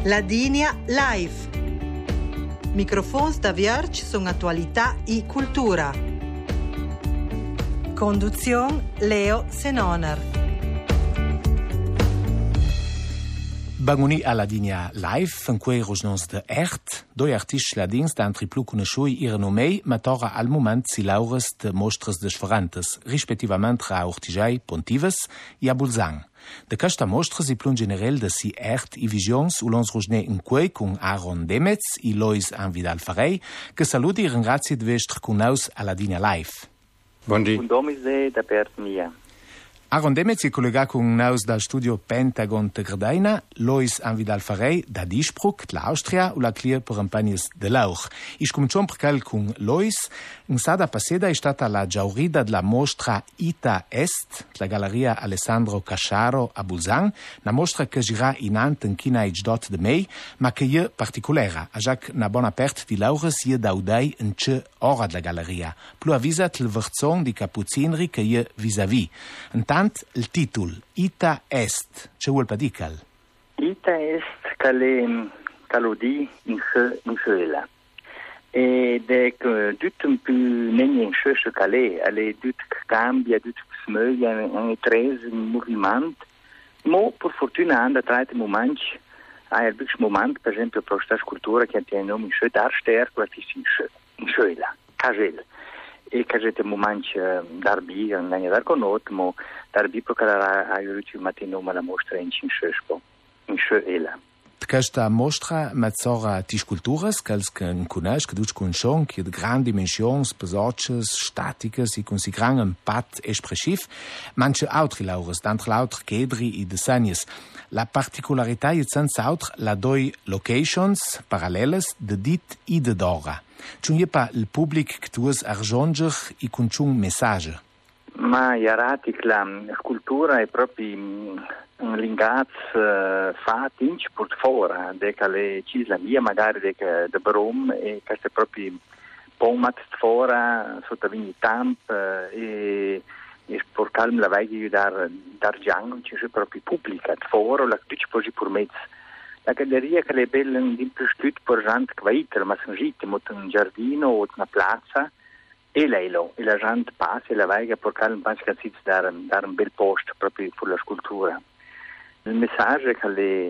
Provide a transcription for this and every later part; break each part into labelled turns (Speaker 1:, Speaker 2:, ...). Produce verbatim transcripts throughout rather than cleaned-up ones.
Speaker 1: Ladinia Live. Microfons da Vierge sono attualità e cultura. Conduzione Leo Senoner.
Speaker 2: Banguni a Ladinia Live, in cui rosnons de Ert, doi artisti ladins d'antri plu conosciui ihren nomei, ma tora al moment si laures de mostres desferantes, rispettivament a Ortijai, Pontives e a Bulzang. De questa mostra si plun generel de si Ert i visions u lons rosne in quei con Aaron Demetz e Lois Anvidal Farei, che saluti e ringrazi de vestr con naus a Ladinia Live.
Speaker 3: Buongiorno.
Speaker 4: Un domise da per mia.
Speaker 2: Aaron Demetz è collegato con naus dal studio Pentagon de Gradaina, Lois Anvidal Farei da Dispruck, l'Austria, u la clear per un pagnes de Lauch. Ich cominciamo perché con Lois. In sada passeda è stata la giaurida della mostra Ita Est, la Galleria Alessandro Casciaro a Bulzang, una mostra che gira in ant in china ich dot de mei, ma che è particolare, a già una buona aperta di Laura si è daudai in ce ora della galleria, più avvisat il verzon di Capuzinri che è vis-à-vis. Intant il titolo Ita Est, ce vuol padical?
Speaker 4: Ita Est cale calodi in se in sela. E de tut un più negli in schösche cale, alle tut cambia, tut smöglia in tres in movimento. Mo per fortuna anda traite moment, a er bix moment, per esempio pro sta scultura che tiene nome schö darster, quella in schöla, cagel. E cagete moment darbi, non è dar conot, mo darbi pro cara a iuruci matino ma la mostra in schöspo, in schöela.
Speaker 2: Questa mostra mezzora ti sculturas, che conosci, che tu conosci, che di grandi dimensioni, pesocce, statiche, e con si gran impact espressiv, manche altri laures, d'altre l'altre chedri e disegnis. La particolarità è senza altro la due locations paralleles de dit e de d'ora. C'è un pa il pubblic che tu es arronger e con un messaggio.
Speaker 4: Ma iarati che la scultura è proprio un lingaz uh, fatto in portfora, de le cisla via magari de de brom e che è proprio pomat fora sotto vini tamp uh, e e per calm la vai di dar dar giang c'è proprio pubblica fora la tutti posi per mezzo. La galleria che le belle in più stut per gente quaiter, ma sono gitte mot un giardino o una piazza e lei lo e la gente passa e la vai per calm penso che si dar dar un bel posto proprio per la scultura. Il messaggio che le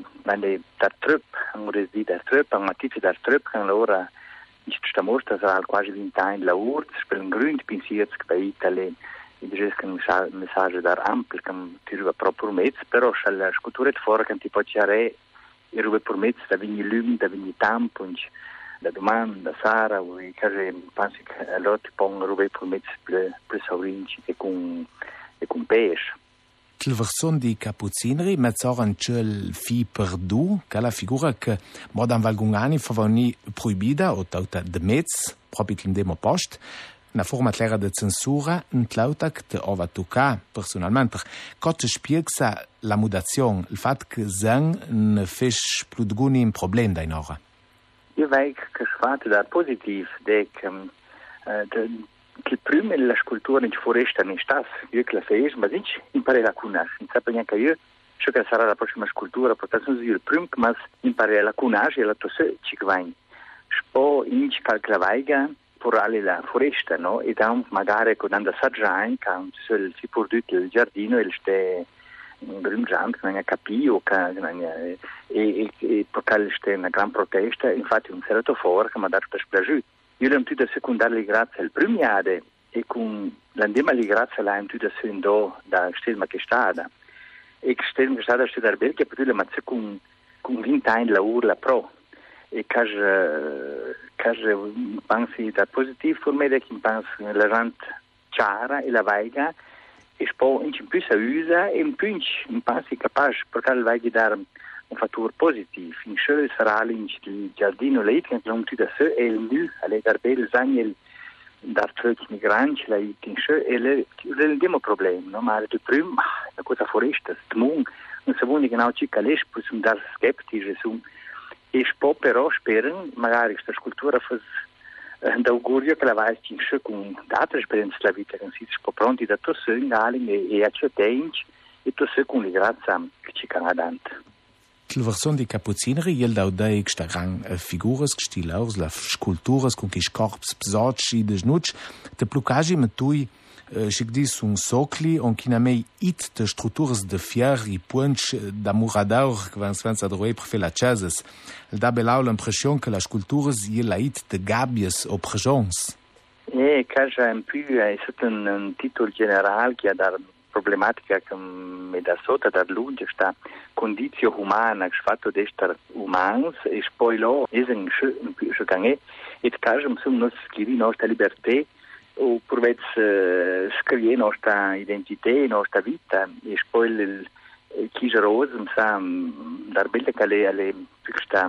Speaker 4: le da trupp, un resi da trupp, un mattice da trupp che allora questa mostra sarà quasi venti anni la urt, per un grund pensiero che per Italia e dice che un messaggio da ampio che ti ruba proprio mezzo, però c'è la scultura di fuori che ti può chiare e ruba per mezzo da vigni lumi, da vigni tampo, da domanda, da Sara, e che penso che allora ti pongo ruba per mezzo più saurinci e con e con pesce.
Speaker 2: Il verson di Capuzinri mezz'ora il fi perdu, che la figura che modan valgungani favoni proibida o tauta de mezz, proprio in demo post, una forma clara de censura, un tlauta che te ova tocca personalmente. Cotte spiegsa la mudazione, il fatto che zang ne fes più d'guni un problema da in ora.
Speaker 4: Io vedo che si fa da positivo, che che prima la scultura in foresta non sta, io che la fai, ma non impari a conoscere, non sapevo neanche io, ciò che sarà la prossima scultura, perché sono io il primo, ma impari a conoscere e la tua se ci vai. Spo in ci calclavaiga per alle la foresta, no? E da magari con andare a assaggiare, che si può dire il giardino e c'è un grimgiante che non ha capito, e, e, e perché c'è una gran protesta, infatti un certo fuori che mi ha dato per splagiuto. Io l'ho tutte secondare grazie al primo anno e con l'andema li grazie l'ho tutte secondo da stelma che stata e che stelma che stata studiare bene che poi le mazze con con venti anni la urla pro e che che pensi da positivo per me che penso la gente chiara e la vaiga e spo in più sa usa e in più in pensi capace perché la vaiga dare un fattore positivo. In schöne sarà il giardino lei che non ti da se e il nu alle garbel zagnel dar truc migranti la in schö e le il demo problema, no? Ma il primo la cosa foresta, stmung, non si vuole genau ci cales pus un dar skeptisch su e spo però speren magari questa scultura fa d'augurio che la vai in schö con altre esperienze la vita che si spo pronti da to se e e a ciò e tu sei con le grazie che ci canadante.
Speaker 2: la versione di Cappuccineri, il daudei che sta gran figuras, che sti laurs, la sculturas, con chi scorps psoci de snuc, te plucagi me tui si dis un socli on chi namei it de strutturas de fier i punch da muradaur che van svenza droi per fer la chases. Il da belau l'impression che la sculturas i la it de gabies o prejons.
Speaker 4: E caja un più è stato un, un titolo generale che ha da problematica che mi da sotto da lunge sta condizione umana che fatto di essere umans e poi lo è un più gange e caja un nos scrivi nostra libertà o per vez uh, scrivere nostra identità, nostra vita e poi il chigeroso sa dar belle che le alle sta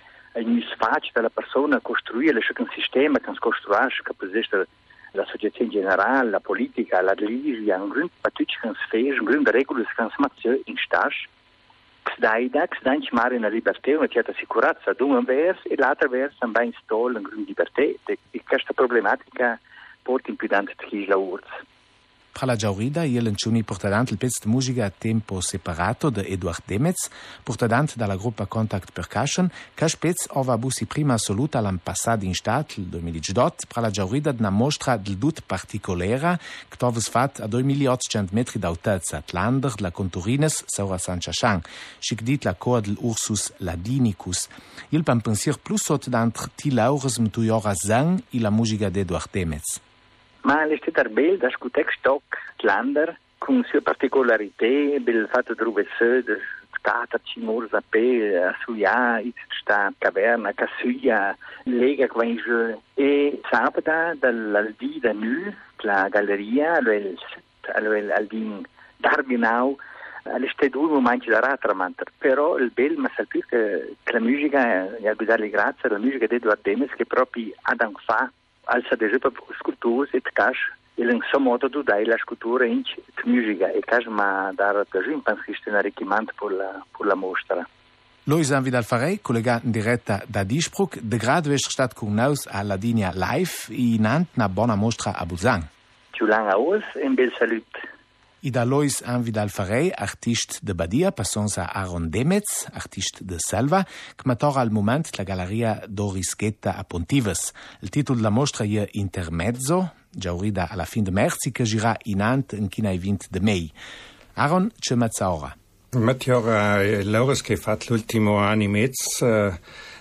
Speaker 4: in sfaccia della persona costruire un sistema che si costruisce che può essere l'associazione generale, la politica, la religione, un grande pattuccio che si fa, un grande regole che si mette in stage che si dà idea, che si dà in cimare una libertà, una certa sicurezza da un verso e l'altro verso si installa una grande libertà e questa problematica porta in più tanto di la urz.
Speaker 2: Tra la Giaurida, il lancioni portadant il pezzo di musica a tempo separato di Eduard Demez, portadant dalla gruppa Contact Percussion, che spez ova busi prima assoluta l'anno passato in stat, il duemiladiciotto, tra la Giaurida di una mostra del dut particolera, che toves fat a duemilaottocento metri d'altezza, l'Ander della Conturines, Saura San Chachan, schic dit la coa dell'Ursus Ladinicus. Il pan pensier plus sotto d'antre ti laures mtuiora zang e la musica di Eduard Demez.
Speaker 4: Ma l'estetar bel da scutex stock Lander con sue particolarità del fatto di essere stata cimur zape a suia it sta caverna casuia lega quinge e sabato dall'aldi da nu la galleria al al aldin Dargenau all'estedur momento da ratramanter però il bel ma salpi che la musica e a guidare grazie la musica di Eduard Demez che proprio ad fa alza deja per sculturas e cash il in so modo tu dai la scultura in musica e cash ma dar per un penso un arricchimento per la per la mostra.
Speaker 2: Lois Vidal Farey, collega in diretta da Dispruck, de grado è stato con noi alla linea live e nant una buona mostra a Busan.
Speaker 4: Ciao lang aus e un bel salut.
Speaker 2: I da Lois Vidal Farey, artist de Badia, passons a Aaron Demez, artist de Selva, che matora al moment la galleria Doris Ghetta a Pontives. Il titolo della mostra è Intermezzo, giaurida alla fin de merzi, che gira in ant in china i vint de mei. Aaron, c'è mezza ora.
Speaker 3: Mezza ora, l'ora che ha fatto l'ultimo anno e mezzo,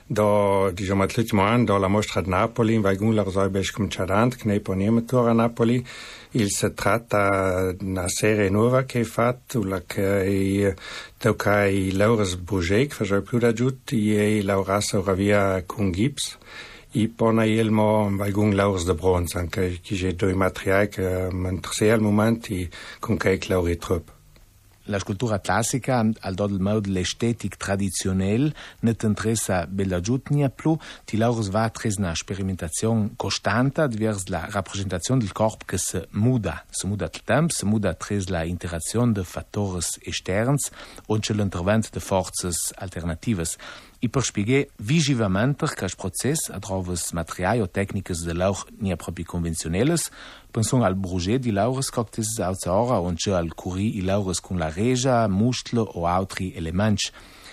Speaker 3: do, diciamo, l'ultimo anno, do la mostra di Napoli, in Vaigun, la Rosaibes Comciadant, che ne poniamo a Napoli. Il si tratta di una serie nuova che è fatta, la che tocca i Laures Bourget, che faceva più da giusto, e Laurassa Oravia con Gips, e poi il mo valgun Laures de Bronze, anche che c'è due materiali che mi interessano al momento, e con che Lauri Trupp.
Speaker 2: La scultura classica, al do del mod l'estetic traditionnel, ne t'interessa bella giutnia più, ti laures va tres una sperimentazione costante vers la rappresentazione del corpo che si muda. Si muda il tempo, si muda tres la interazione de fattori esterns und c'è l'intervento de forces alternatives. I per spiegare visivamente che il processo a través materiali o tecniche de lauch nie proprio convenzionelles, pensons al Bourget di laures cocktails autora und c'è al curry i laures con la regia, muscolo o altri elementi.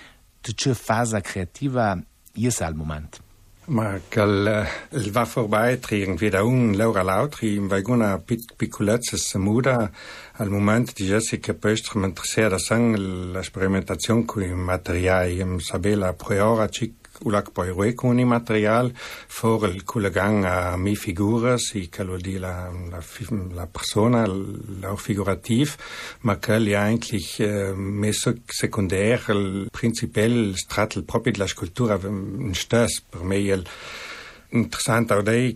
Speaker 2: De c'è fase creativa è al momento.
Speaker 3: Ma che il va vorbei irgendwie da un laura l'altri, in una piccolezza si muda al momento di Jessica Pestre mi interessa da sang la sperimentazione con i materiali, sapere a priori cic ulac poi rue con i materiali, for il collegang a mi figura, si che lo di la, la, la persona, la figurativ, ma che è eigentlich eh, messo secondaire, il principale strato proprio della scultura in stes, per me il interessant auch dei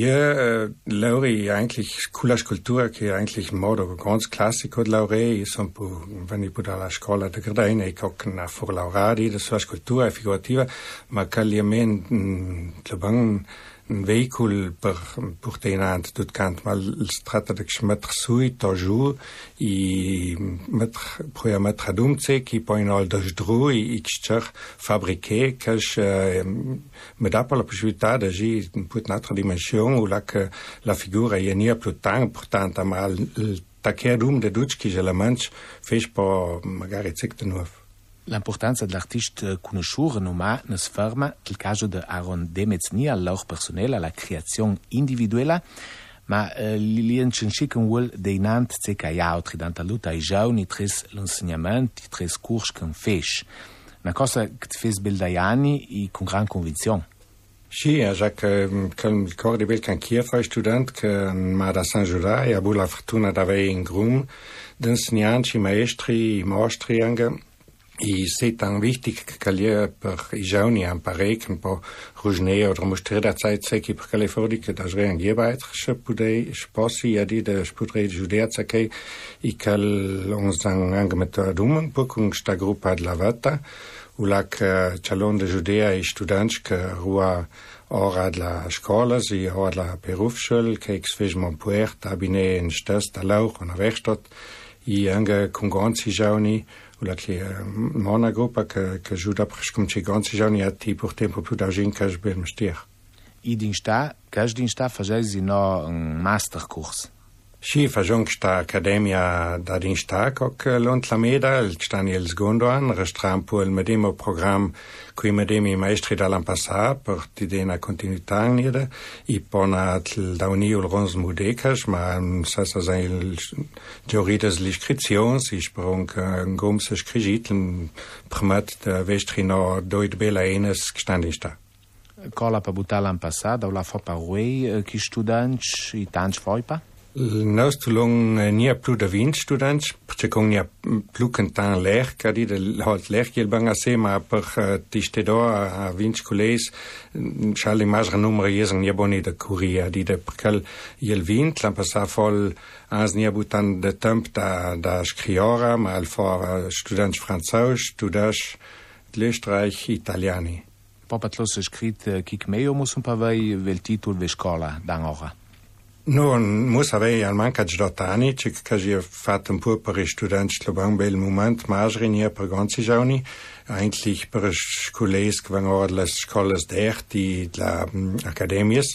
Speaker 3: hier Lauri eigentlich coola scultura che eigentlich in modo ganz classico di Laurei sono wenn ich da la scuola de Gardena e coccna for lauradi de sua scultura figurativa ma calliamente claban un veicolo per portare tutto canto ma si tratta di mettere su e giù e mettere poi a mettere ad umze che poi in aldo sdru e che fabbriche che mi dà la possibilità di agire in un'altra dimensione o la che la figura è non più tanto importante ma il tacchia d'um de duc che je la manch fece po magari zecte nuovo.
Speaker 2: L'importanza dell'artista conosciuto renommato non si ferma nel caso di Aaron Demez ni al loro personale, alla creazione individuale, ma eh, li incensica un vuol dei nant se che altri danta luta ai giovani tres l'insegnamento, tres corsi che fece. Una cosa che ti fece bel dai anni e con gran convinzione.
Speaker 3: Sì, già che il ricordo bel che anch'io fui studente che ma da San Giuda e avevo la fortuna di avere in grum di insegnanti, maestri, mostri anche. E c'est tan wichtig che io per i giovani imparare un po' ruggiere o mostrare la Zeit che per le fuori che da sre anche weitere pudei sposi ja die de pudei giudea che i che uns anche met dumen po con sta gruppa de la vata u la che chalon de giudea e students che rua ora la scuola si ora la berufsschule che ex fes mon puert abine in stas da lauch und Werkstatt i anche con ganzi giovani la che una gruppa che che ajuda per come ganzi giorni a ti per tempo più da gente che ben mestier.
Speaker 2: I din sta, che din sta facesi no un masterkurs.
Speaker 3: Sì, facciamo questa accademia da din sta che l'Ontlameda, il stani il secondo anno, restram poi il medesimo programma qui medesimi maestri dall'anno passato per ti dare una continuità nere e poi da un'io il rons mudecas, ma sa sa sa il giorides l'iscrizione, si sprung un gomse scrigit, il primat da vestrino doid bella enes gestandi sta.
Speaker 2: Cola per buttare l'anno passato, la fa parue chi studenti i tanti foipa?
Speaker 3: Il nostro long nie più da vint students, perché con nie più cantan ler, che di halt ler che il banga se ma per ti stedo a vint colles, schall immagine numero jesen nie boni da curia di de perché il vint l'an passa vol ans nie butan de temp da da scriora, ma al for students französ, studas l'Österreich italiani.
Speaker 2: Popatlos scrit kik meio mus un pavei vel titul ve scola d'angora.
Speaker 3: No, muss avere al manca di dotani, che che ho fatto un po' per i studenti che lo bel moment, ma nie per ganzi giorni, eigentlich per scuoles che vanno alle scuole d'arte, la academies,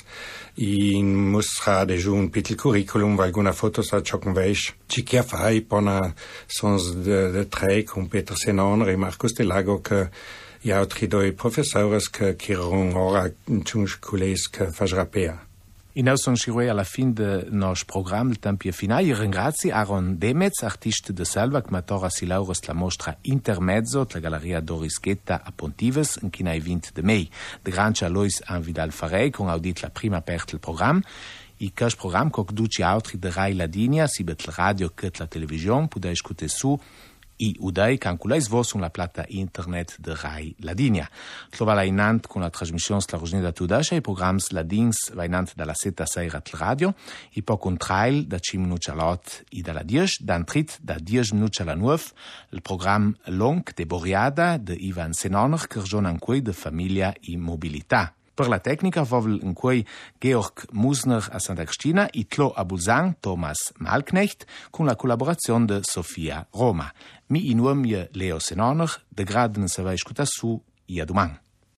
Speaker 3: e muss ha de un piccolo curriculum, weil alguna foto sa chocken weis, ci che fai pona sons de de tre con Peter Senon e Marcus de Lago che gli altri due professori che che erano ora in scuoles che fasrapea.
Speaker 2: E noi siamo arrivati alla fine del nostro programma, il tempo è finale. Io ringrazio Aaron Demez, artista di Selva, che mi ha si laurea la mostra Intermezzo della Galleria Doris Ghetta a Pontives, in cui hai vinto di me. De Grancia Lois Anvidal Farei, con audit la prima parte del programma. E questo programma, che conduce altri di Rai Ladinia, sia per la radio che la televisione, potete ascoltare su i udai calculais vos sur la plata internet de Rai Ladinia. Trova la inant con la trasmissione la Rosnida da Tudasha, i programmi Ladins va inant dalla setta seira al radio, i po con trail da cinque minuti all'ot e dalla dieci, dan trit da dieci minuti alla nuove, il programma Long de Boriada de Ivan Senoner, che ragiona in cui de famiglia e mobilità. Per la tecnica vovel in cui Georg Musner a Santa Cristina e Tlo a Bulzang Thomas Malknecht con la collaborazione di Sofia Roma. Mi in nome Leo Senoner, de graden se va ascoltare su e a domani.